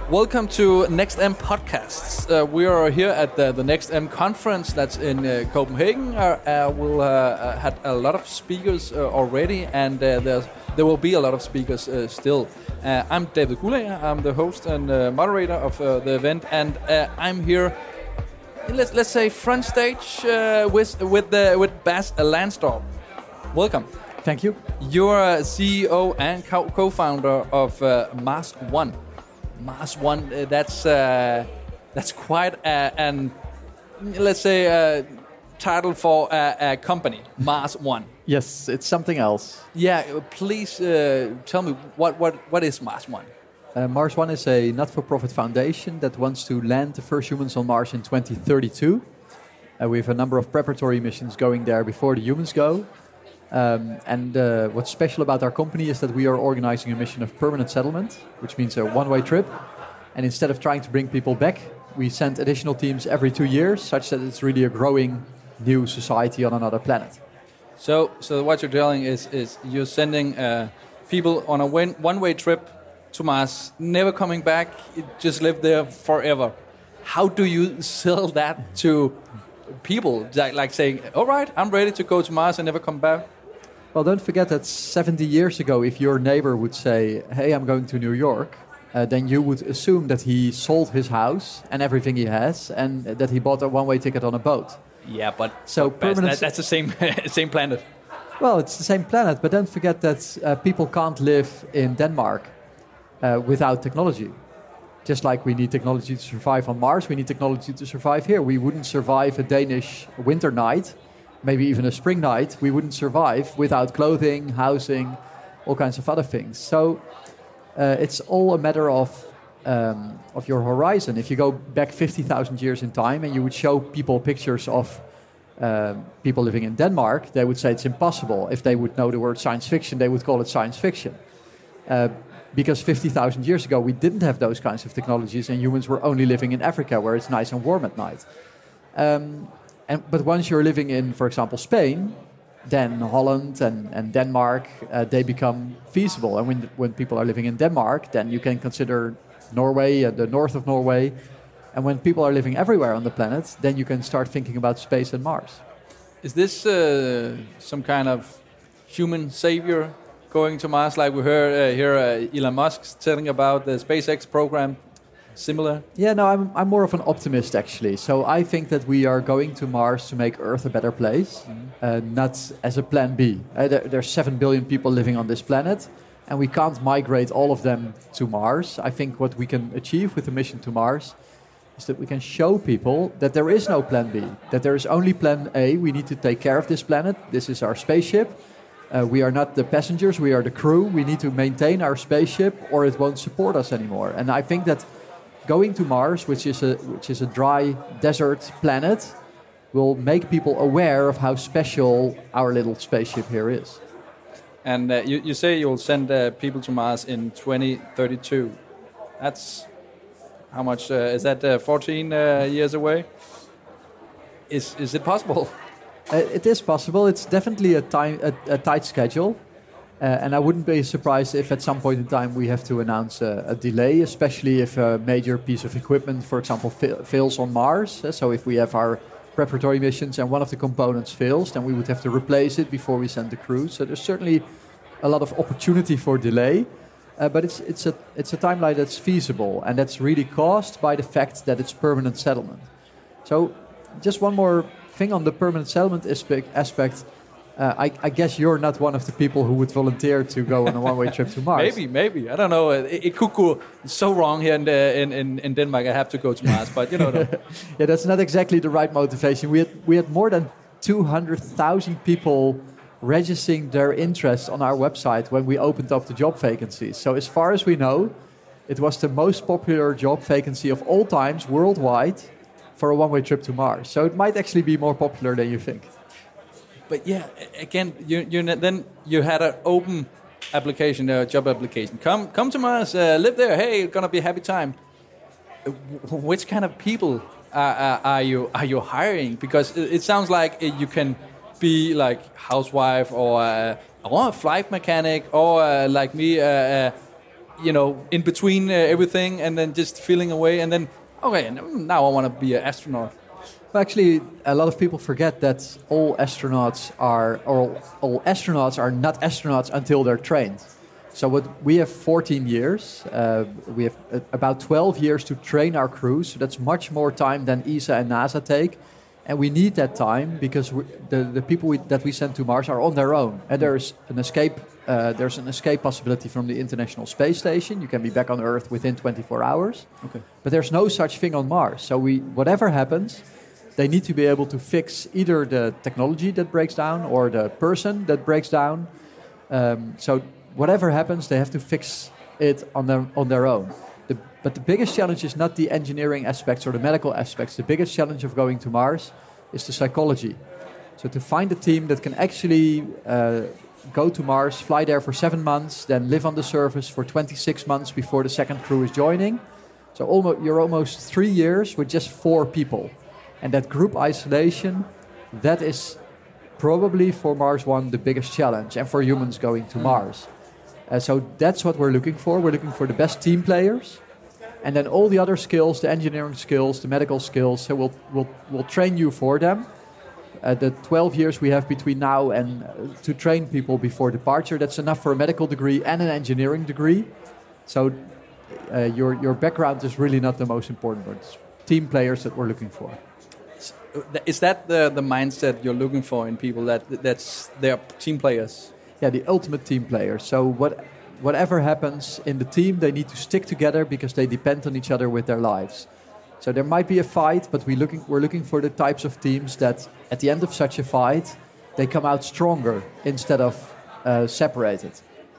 Welcome to NextM Podcasts. We are here at the NextM conference that's in Copenhagen. We'll had a lot of speakers already, and there will be a lot of speakers still. I'm David Gulager. I'm the host and moderator of the event, and I'm here. Let's say front stage with Bas Lansdorp. Welcome. Thank you. You're CEO and co-founder of Mars One. Mars One, that's quite an, let's say, title for a company, Mars One. Yes, it's something else. Yeah, please tell me, what is Mars One? Mars One is a not-for-profit foundation that wants to land the first humans on Mars in 2032. We have a number of preparatory missions going there before the humans go. And what's special about our company is that we are organizing a mission of permanent settlement, which means a one-way trip. And instead of trying to bring people back, we send additional teams every 2 years, such that it's really a growing new society on another planet. So what you're telling is you're sending people on a one-way trip to Mars, never coming back, just live there forever. How do you sell that to people? Like saying, all right, I'm ready to go to Mars and never come back? Well, don't forget that 70 years ago, if your neighbor would say, hey, I'm going to New York, then you would assume that he sold his house and everything he has, and that he bought a one-way ticket on a boat. Yeah, but that's the same planet. Well, it's the same planet, but don't forget that people can't live in Denmark without technology. Just like we need technology to survive on Mars, we need technology to survive here. We wouldn't survive a Danish winter night, maybe even a spring night. We wouldn't survive without clothing, housing, all kinds of other things. So it's all a matter of your horizon. If you go back 50,000 years in time and you would show people pictures of people living in Denmark, they would say it's impossible. If they would know the word science fiction, they would call it science fiction. Because 50,000 years ago, we didn't have those kinds of technologies, and humans were only living in Africa, where it's nice and warm at night. But once you're living in, for example, Spain, then Holland and Denmark, they become feasible. And when people are living in Denmark, then you can consider Norway, the north of Norway. And when people are living everywhere on the planet, then you can start thinking about space and Mars. Is this some kind of human savior going to Mars, like we heard here Elon Musk telling about the SpaceX program? Similar? Yeah, no, I'm more of an optimist, actually. So I think that we are going to Mars to make Earth a better place, not as a plan B. There's 7 billion people living on this planet, and we can't migrate all of them to Mars. I think what we can achieve with the mission to Mars is that we can show people that there is no plan B, that there is only plan A. We need to take care of this planet. This is our spaceship. We are not the passengers, we are the crew. We need to maintain our spaceship or it won't support us anymore. And I think that going to Mars, which is a dry desert planet, will make people aware of how special our little spaceship here is. And you say you'll send people to Mars in 2032. That's how much? Is that 14 years away? Is it possible? It is possible. It's definitely a tight schedule. And I wouldn't be surprised if at some point in time we have to announce a delay, especially if a major piece of equipment, for example, fails on Mars. So if we have our preparatory missions and one of the components fails, then we would have to replace it before we send the crew. So there's certainly a lot of opportunity for delay. But it's a timeline that's feasible, and that's really caused by the fact that it's permanent settlement. So just one more thing on the permanent settlement aspect. I guess you're not one of the people who would volunteer to go on a one-way trip to Mars. Maybe. I don't know. It could go so wrong here in Denmark. I have to go to Mars, but you know. Yeah, that's not exactly the right motivation. We had more than 200,000 people registering their interest on our website when we opened up the job vacancies. So as far as we know, it was the most popular job vacancy of all times worldwide for a one-way trip to Mars. So it might actually be more popular than you think. But yeah, again, then you had an open application, a job application. Come to Mars, live there. Hey, it's gonna be a happy time. Which kind of people are you hiring? Because it sounds like you can be like housewife or a flight mechanic or like me, in between everything, and then just feeling away, and then okay, now I want to be an astronaut. Well, actually, a lot of people forget that all astronauts are not astronauts until they're trained. So we have 14 years. We have about 12 years to train our crews. So that's much more time than ESA and NASA take. And we need that time because the people that we send to Mars are on their own. And there's an escape possibility from the International Space Station. You can be back on Earth within 24 hours. Okay. But there's no such thing on Mars. So whatever happens, they need to be able to fix either the technology that breaks down or the person that breaks down. So whatever happens, they have to fix it on their own. But the biggest challenge is not the engineering aspects or the medical aspects. The biggest challenge of going to Mars is the psychology. So to find a team that can actually go to Mars, fly there for 7 months, then live on the surface for 26 months before the second crew is joining. So you're almost 3 years with just 4 people. And that group isolation, that is probably for Mars One the biggest challenge, and for humans going to Mars. So that's what we're looking for. We're looking for the best team players. And then all the other skills, the engineering skills, the medical skills, so we'll train you for them. The 12 years we have between now and to train people before departure, that's enough for a medical degree and an engineering degree. So your background is really not the most important, but it's team players that we're looking for. Is that the mindset you're looking for in people, that's their team players? Yeah, the ultimate team players. So whatever happens in the team, they need to stick together because they depend on each other with their lives. So there might be a fight, but we're looking for the types of teams that at the end of such a fight, they come out stronger instead of separated.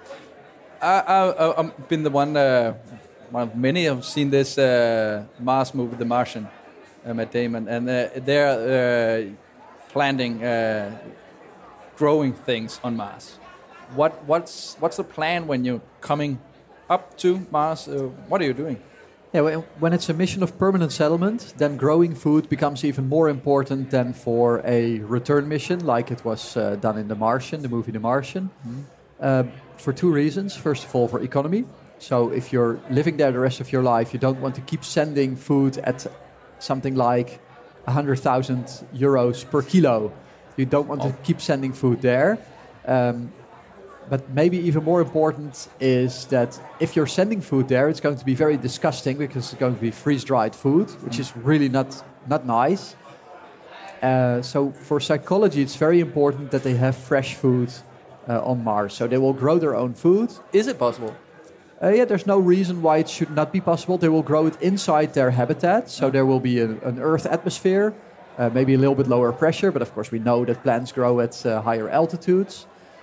I've been the one of many have seen this Mars movie, The Martian, Matt Damon, and they're planting growing things on Mars. What's the plan when you're coming up to Mars? What are you doing? Yeah, when it's a mission of permanent settlement, then growing food becomes even more important than for a return mission, like it was done in The Martian, the movie The Martian. Mm-hmm. For 2 reasons. First of all, for economy. So if you're living there the rest of your life, you don't want to keep sending food at something like 100,000 euros per kilo. You don't want to keep sending food there. But maybe even more important is that if you're sending food there, it's going to be very disgusting because it's going to be freeze-dried food, which is really not nice. So for psychology, it's very important that they have fresh food on Mars. So they will grow their own food. Is it possible? Yeah, there's no reason why it should not be possible. They will grow it inside their habitat. So there will be an Earth atmosphere, maybe a little bit lower pressure. But of course, we know that plants grow at higher altitudes.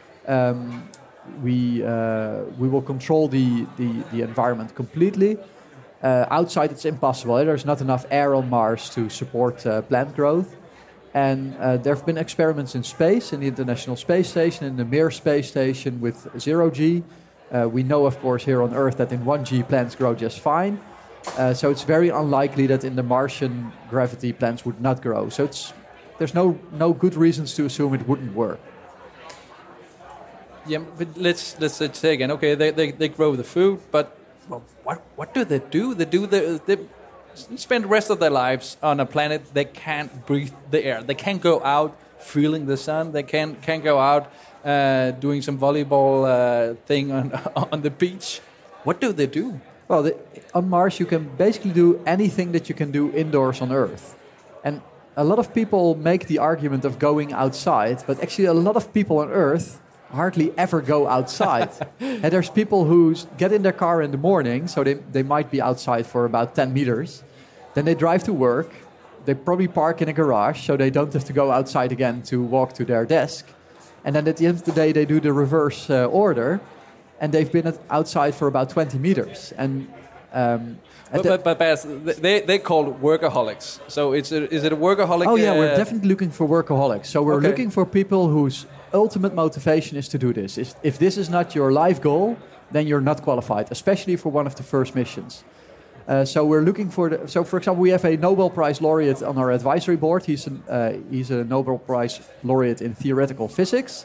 We will control the environment completely. Outside, it's impossible. There's not enough air on Mars to support plant growth. And there have been experiments in space, in the International Space Station, in the Mir Space Station with 0G. We know, of course, here on Earth that in 1G plants grow just fine. So it's very unlikely that in the Martian gravity plants would not grow. So there's no good reasons to assume it wouldn't work. Yeah, but let's say again. Okay, they grow the food, but what do? They spend the rest of their lives on a planet they can't breathe the air. They can't go out feeling the sun. They can't go out doing some volleyball thing on the beach. What do they do? Well, on Mars you can basically do anything that you can do indoors on Earth, and a lot of people make the argument of going outside, but actually a lot of people on Earth hardly ever go outside. And there's people who get in their car in the morning, so they might be outside for about 10 meters. Then they drive to work. They probably park in a garage, so they don't have to go outside again to walk to their desk. And then at the end of the day, they do the reverse order, and they've been outside for about 20 meters. And but they're called workaholics. So is it a workaholic? Oh yeah, we're definitely looking for workaholics. So we're looking for people whose ultimate motivation is to do this. If this is not your life goal, then you're not qualified, especially for one of the first missions. So we're looking for So, for example, we have a Nobel Prize laureate on our advisory board. He's a Nobel Prize laureate in theoretical physics.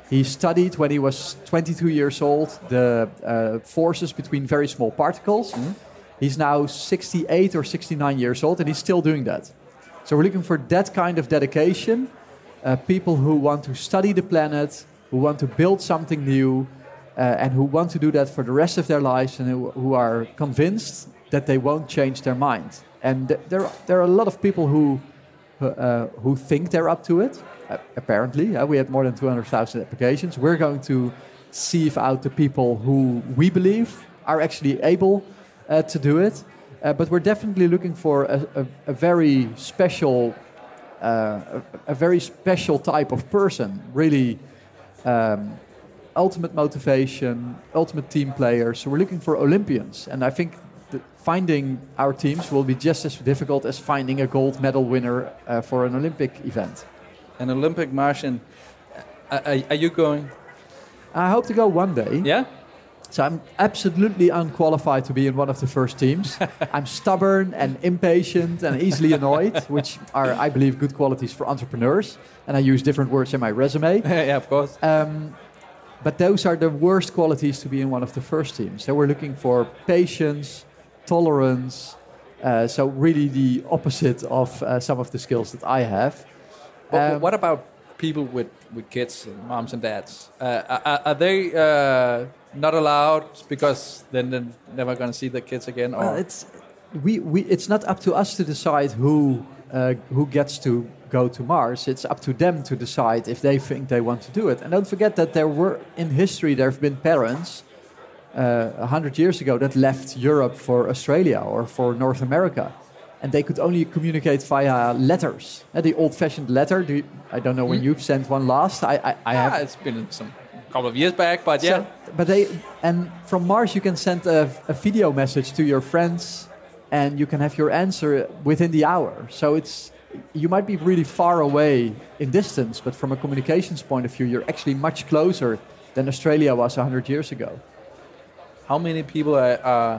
He studied when he was 22 years old the forces between very small particles. Mm-hmm. He's now 68 or 69 years old, and he's still doing that. So we're looking for that kind of dedication, people who want to study the planet, who want to build something new, and who want to do that for the rest of their lives, and who are convinced that they won't change their mind. And there are a lot of people who think they're up to it. Apparently, we had more than 200,000 applications. We're going to sieve out the people who we believe are actually able to do it. But we're definitely looking for a very special, type of person. Really, ultimate motivation, ultimate team players. So we're looking for Olympians, and I think finding our teams will be just as difficult as finding a gold medal winner for an Olympic event. An Olympic Martian. Are you going? I hope to go one day. Yeah? So I'm absolutely unqualified to be in one of the first teams. I'm stubborn and impatient and easily annoyed, which are, I believe, good qualities for entrepreneurs. And I use different words in my resume. Yeah, of course. But those are the worst qualities to be in one of the first teams. So we're looking for patience, tolerance. So really the opposite of some of the skills that I have. What about people with kids, moms and dads? Are they not allowed because then they're never going to see the kids again? Or? Well, it's not up to us to decide who gets to go to Mars. It's up to them to decide if they think they want to do it. And don't forget that in history there have been parents 100 years ago that left Europe for Australia or for North America. And they could only communicate via letters. The old-fashioned letter. I don't know when you've sent one last. I have. It's been some couple of years back, but yeah. And from Mars you can send a video message to your friends, and you can have your answer within the hour. So you might be really far away in distance, but from a communications point of view, you're actually much closer than Australia was 100 years ago. How many people are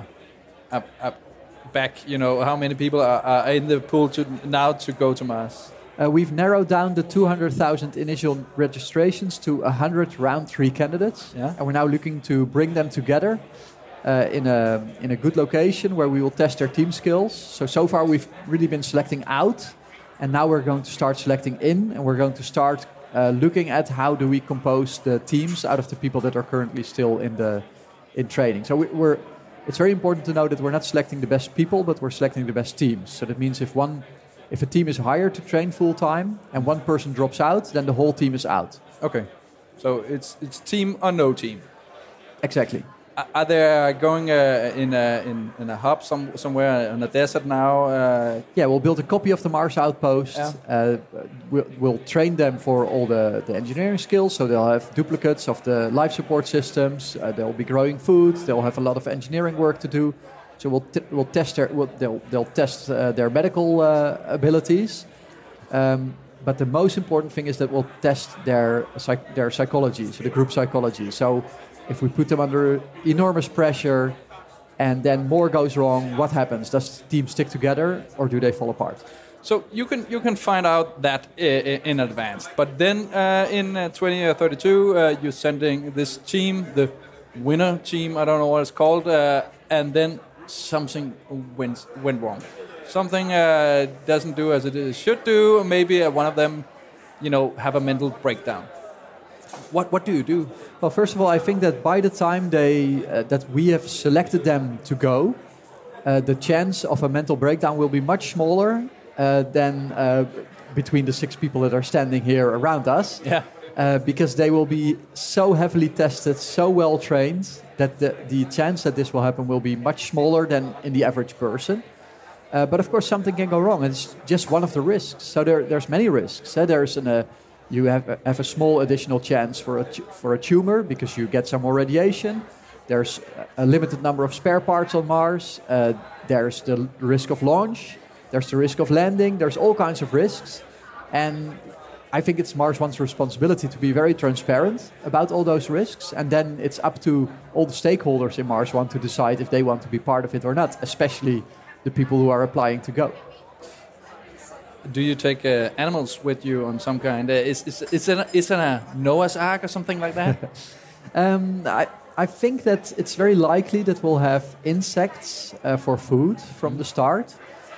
back? How many people are in the pool to go to Mars? We've narrowed down the 200,000 initial registrations to 100 round 3 candidates. Yeah. And we're now looking to bring them together in a good location where we will test their team skills. So far we've really been selecting out, and now we're going to start selecting in, and we're going to start looking at how do we compose the teams out of the people that are currently still in training. So it's very important to know that we're not selecting the best people, but we're selecting the best teams. So that means if a team is hired to train full time and one person drops out, then the whole team is out. Okay, so it's team or no team. Exactly. Are they going in a hub somewhere in the desert now? Yeah, we'll build a copy of the Mars outpost. Yeah. We'll train them for all the engineering skills, so they'll have duplicates of the life support systems. They'll be growing food. They'll have a lot of engineering work to do. So we'll test they'll test their medical abilities. But the most important thing is that we'll test their psychology, so the group psychology. So if we put them under enormous pressure and then more goes wrong, what happens? Does the team stick together or do they fall apart? So you can find out that in advance. But then in 2032, you're sending this team, the winner team, I don't know what it's called, and then something went wrong. Something doesn't do as it should do. Maybe one of them, have a mental breakdown. What do you do? Well, first of all, I think that by the time that we have selected them to go, the chance of a mental breakdown will be much smaller than between the 6 people that are standing here around us. Yeah. Because they will be so heavily tested, so well trained, that the chance that this will happen will be much smaller than in the average person. But of course, something can go wrong. It's just one of the risks. So there's many risks. You have a small additional chance for a tumor because you get some more radiation. There's a limited number of spare parts on Mars. There's the risk of launch. There's the risk of landing. There's all kinds of risks. And I think it's Mars One's responsibility to be very transparent about all those risks. And then it's up to all the stakeholders in Mars One to decide if they want to be part of it or not, especially the people who are applying to go. Do you take animals with you on some kind? Is it a Noah's Ark or something like that? I think that it's very likely that we'll have insects for food from the start.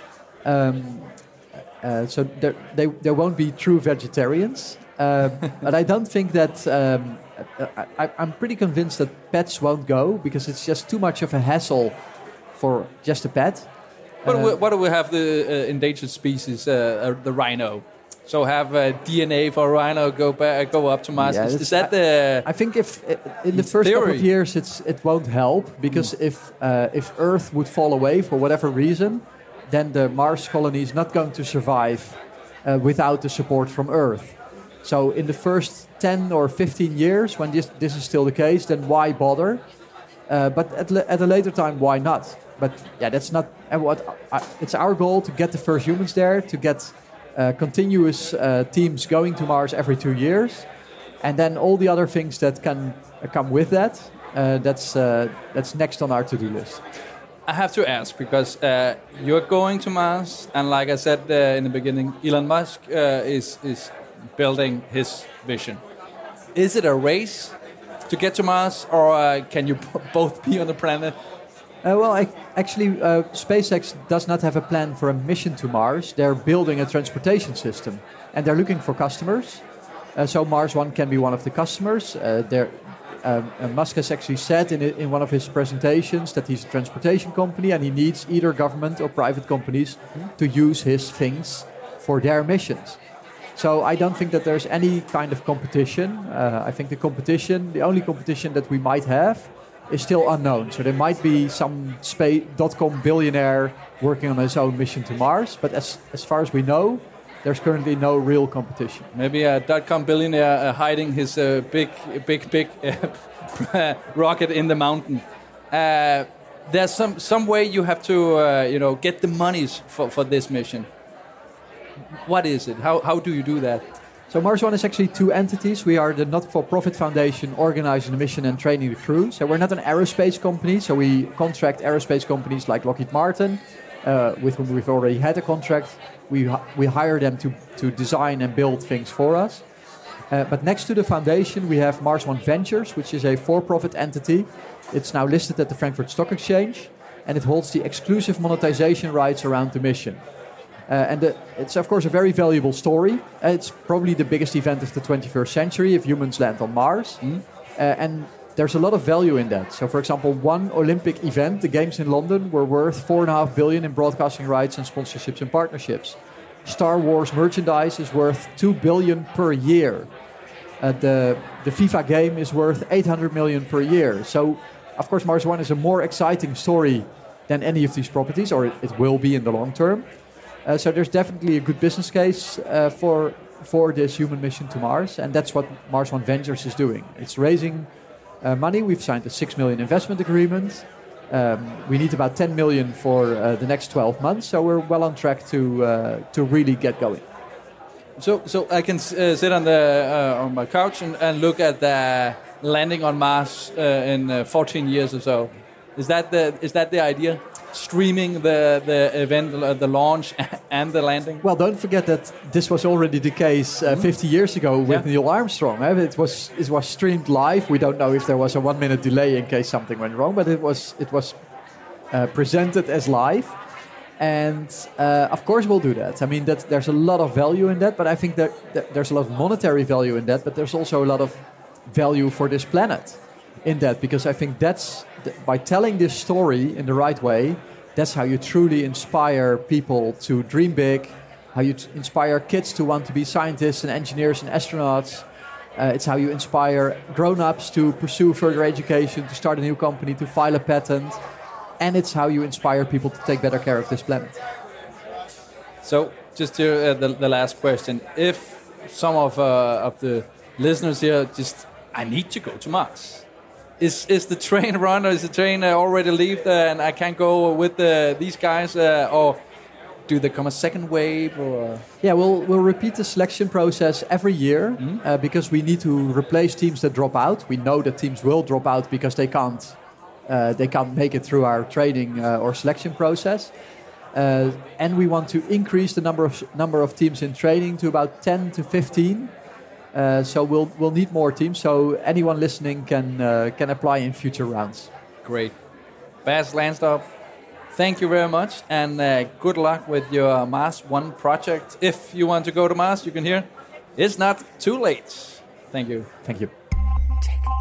So there won't be true vegetarians. But I don't think that... I'm pretty convinced that pets won't go because it's just too much of a hassle for just a pet. What do we have the endangered species, the rhino? So have DNA for rhino go up to Mars. Is that the? I think if in the first couple of years it won't help because if Earth would fall away for whatever reason, then the Mars colony is not going to survive without the support from Earth. So in the first 10 or 15 years, when this is still the case, then why bother? But at a later time, why not? But yeah, that's not it's our goal to get the first humans there, to get continuous teams going to Mars every 2 years, and then all the other things that can come with that. That's next on our to-do list. I have to ask because you're going to Mars, and like I said in the beginning, Elon Musk is building his vision. Is it a race to get to Mars, or can you both be on the planet? Actually, SpaceX does not have a plan for a mission to Mars. They're building a transportation system, and they're looking for customers. So Mars One can be one of the customers. Musk has actually said in one of his presentations that he's a transportation company, and he needs either government or private companies to use his things for their missions. So I don't think that there's any kind of competition. I think the only competition that we might have is still unknown. So there might be some dot-com billionaire working on his own mission to Mars, but as far as we know, there's currently no real competition. Maybe a dot-com billionaire hiding his big rocket in the mountain. There's some way you have to get the monies for this mission. What is it? How do you do that? So Mars One is actually two entities. We are the not-for-profit foundation organizing the mission and training the crew. So we're not an aerospace company. So we contract aerospace companies like Lockheed Martin, with whom we've already had a contract. We hire them to design and build things for us. But next to the foundation, we have Mars One Ventures, which is a for-profit entity. It's now listed at the Frankfurt Stock Exchange, and it holds the exclusive monetization rights around the mission. It's, of course, a very valuable story. It's probably the biggest event of the 21st century if humans land on Mars. And there's a lot of value in that. So, for example, one Olympic event, the Games in London, were worth $4.5 billion in broadcasting rights and sponsorships and partnerships. Star Wars merchandise is worth $2 billion per year. The FIFA game is worth $800 million per year. So, of course, Mars One is a more exciting story than any of these properties, or it will be in the long term. So there's definitely a good business case for this human mission to Mars, and that's what Mars One Ventures is doing. It's raising money. We've signed a $6 million investment agreement. We need about $10 million for the next 12 months, so we're well on track to really get going. So I can sit on my couch and look at the landing on Mars in 14 years or so. Is that the idea? Streaming the event, the launch and the landing? Well, don't forget that this was already the case 50 years ago with Neil Armstrong. It was streamed live. We don't know if there was a 1 minute delay in case something went wrong, but it was presented as live. And of course we'll do that. I mean, there's a lot of value in that, but I think that there's a lot of monetary value in that, but there's also a lot of value for this planet in that, because I think by telling this story in the right way, that's how you truly inspire people to dream big, how you inspire kids to want to be scientists and engineers and astronauts. It's how you inspire grown-ups to pursue further education, to start a new company, to file a patent. And it's how you inspire people to take better care of this planet. So, just to the last question. If some of the listeners here I need to go to Mars. Is the train run, or is the train already leave and I can't go with these guys, or do there come a second wave? Or? Yeah, we'll repeat the selection process every year because we need to replace teams that drop out. We know that teams will drop out because they can't make it through our training or selection process. And we want to increase the number of teams in training to about 10 to 15. So we'll need more teams. So anyone listening can apply in future rounds. Great. Bas Lansdorp, thank you very much, and good luck with your Mars One project. If you want to go to Mars, you can hear. It's not too late. Thank you. Thank you.